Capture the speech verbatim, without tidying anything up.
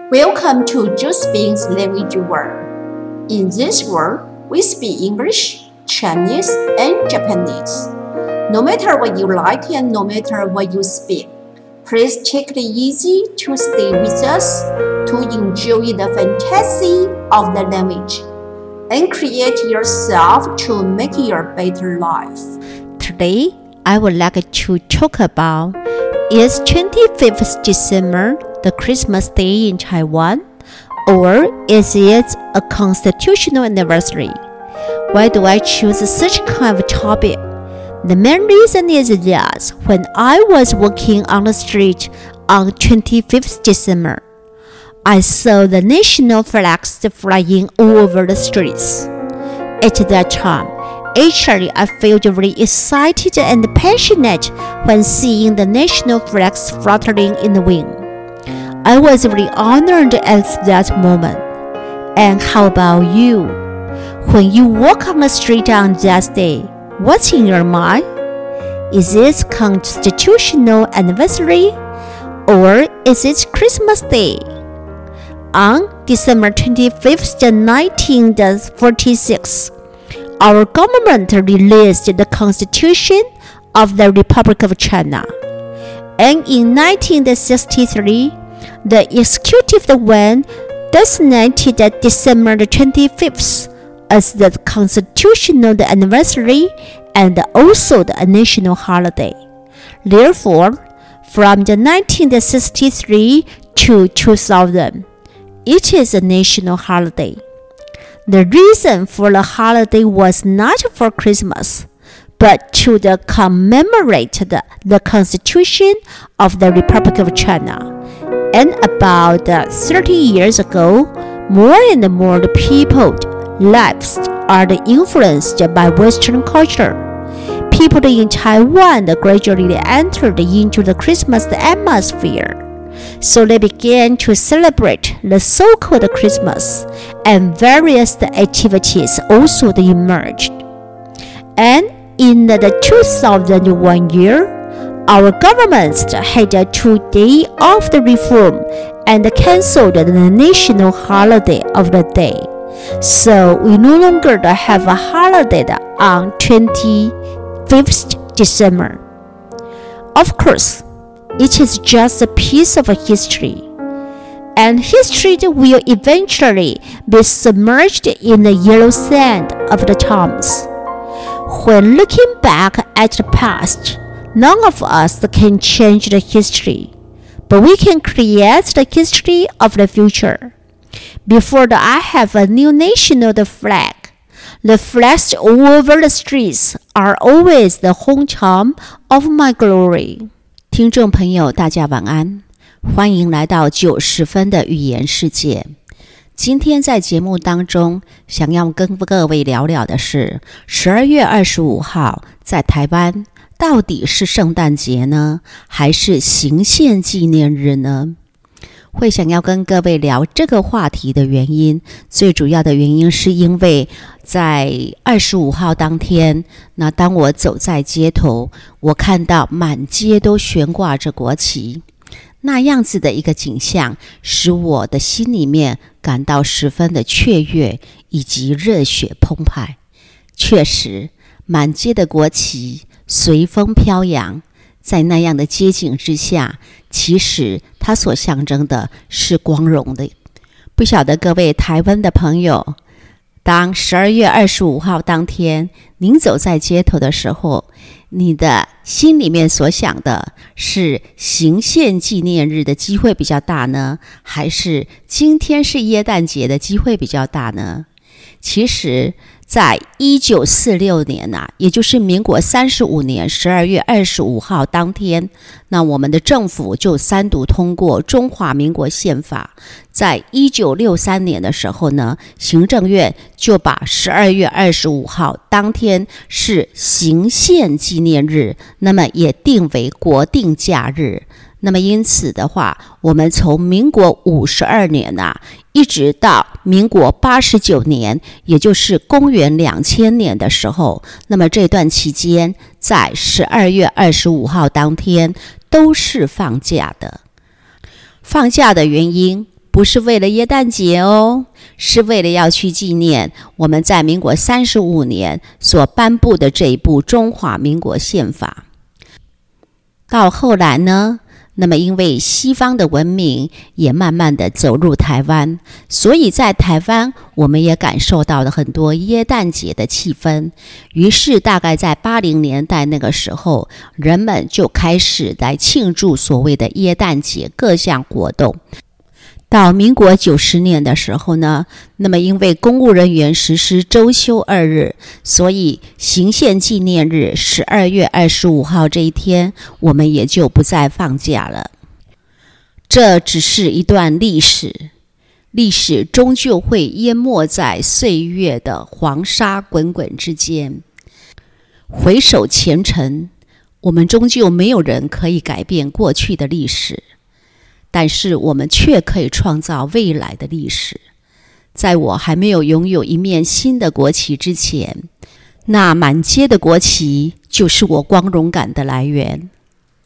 Welcome to Josephine's Language World. In this world, we speak English, Chinese, and Japanese. No matter what you like and no matter what you speak, please take it easy to stay with us to enjoy the fantasy of the language and create yourself to make your better life. Today, I would like to talk about is twenty-fifth December the Christmas day in Taiwan, or is it a constitutional anniversary? Why do I choose such kind of topic? The main reason is that when I was walking on the street on twenty-fifth December, I saw the national flags flying all over the streets. At that time, actually I felt very excited and passionate when seeing the national flags fluttering in the wind. I was very honored at that moment. And how about you? When you walk on the street on that day, what's in your mind? Is it constitutional anniversary or is it Christmas Day? On December twenty-fifth, nineteen forty-six, our government released the Constitution of the Republic of China. And in nineteen sixty-three, the executive yuan designated December twenty-fifth as the constitutional anniversary and also the national holiday. Therefore, from the nineteen sixty-three to two thousand, it is a national holiday. The reason for the holiday was not for Christmas, but to the commemorate the, the Constitution of the Republic of China. And about thirty years ago, more and more people's lives are influenced by Western culture. People in Taiwan gradually entered into the Christmas atmosphere. So they began to celebrate the so-called Christmas, and various activities also emerged. And in the two thousand one year, our government had a two-day of the reform and canceled the national holiday of the day. So we no longer have a holiday on twenty-fifth December. Of course, it is just a piece of history, and history will eventually be submerged in the yellow sand of the times. When looking back at the past, none of us can change the history, but we can create the history of the future. Before the, I have a new national flag. The flags all over the streets are always the hometown of my glory. 听众朋友，大家晚安，欢迎来到九十分的语言世界。今天在节目当中，想要跟各位聊聊的是十二月二十五号在台湾到底是圣诞节呢，还是行宪纪念日呢？会想要跟各位聊这个话题的原因，最主要的原因是因为在二十五号当天，那当我走在街头，我看到满街都悬挂着国旗，那样子的一个景象，使我的心里面感到十分的雀跃以及热血澎湃。确实，满街的国旗随风飘扬，在那样的街景之下，其实它所象征的是光荣的。不晓得各位台湾的朋友，当十二月二十五号当天您走在街头的时候，你的心里面所想的是行宪纪念日的机会比较大呢，还是今天是耶诞节的机会比较大呢？其实在一九四六年啊，也就是民国三十五年十二月二十五号当天，那我们的政府就三读通过中华民国宪法。在一九六三年的时候呢，行政院就把十二月二十五号当天是行宪纪念日，那么也定为国定假日。那么因此的话，我们从民国五十二年啊，一直到民国八十九年，也就是公元两千年的时候，那么这段期间在十二月二十五号当天都是放假的。放假的原因不不是为了耶诞节哦，是为了要去纪念我们在民国三十五年所颁布的这一部中华民国宪法。到后来呢，那么因为西方的文明也慢慢的走入台湾，所以在台湾我们也感受到了很多耶诞节的气氛。于是大概在八零年代那个时候，人们就开始来庆祝所谓的耶诞节各项活动。到民国九十年的时候呢，那么因为公务人员实施周休二日，所以行宪纪念日十二月二十五号这一天，我们也就不再放假了。这只是一段历史，历史终究会淹没在岁月的黄沙滚滚之间。回首前尘，我们终究没有人可以改变过去的历史，但是我们却可以创造未来的历史。在我还没有拥有一面新的国旗之前，那满街的国旗就是我光荣感的来源。